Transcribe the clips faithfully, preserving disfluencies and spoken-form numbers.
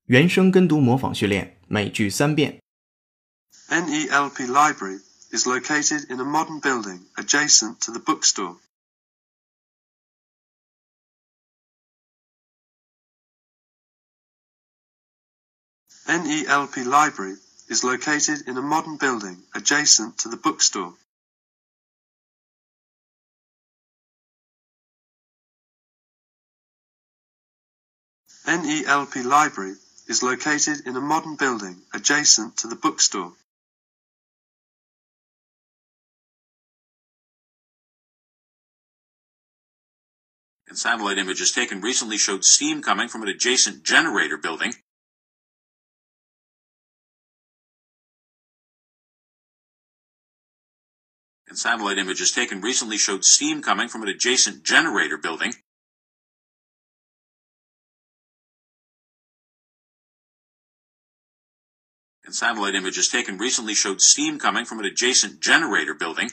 原声跟读模仿训练，每句三遍。 N E L P Library is located in a modern building adjacent to the bookstore. N E L P Library is located in a modern building adjacent to the bookstore. N E L P Library is located in a modern building adjacent to the bookstore. And satellite images taken recently showed steam coming from an adjacent generator building. And satellite images taken recently showed steam coming from an adjacent generator building. And satellite images taken recently showed steam coming from an adjacent generator building.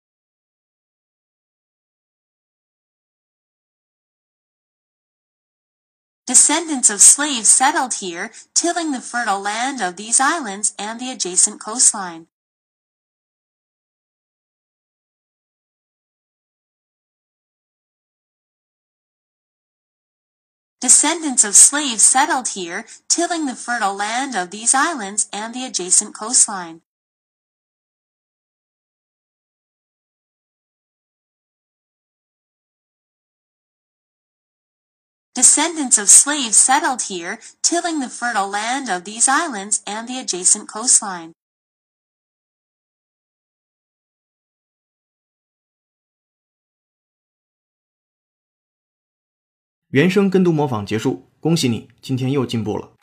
Descendants of slaves settled here, tilling the fertile land of these islands and the adjacent coastline. Descendants of slaves settled here, tilling the fertile land of these islands and the adjacent coastline. Descendants of slaves settled here, tilling the fertile land of these islands and the adjacent coastline. 原声跟读模仿结束，恭喜你，今天又进步了。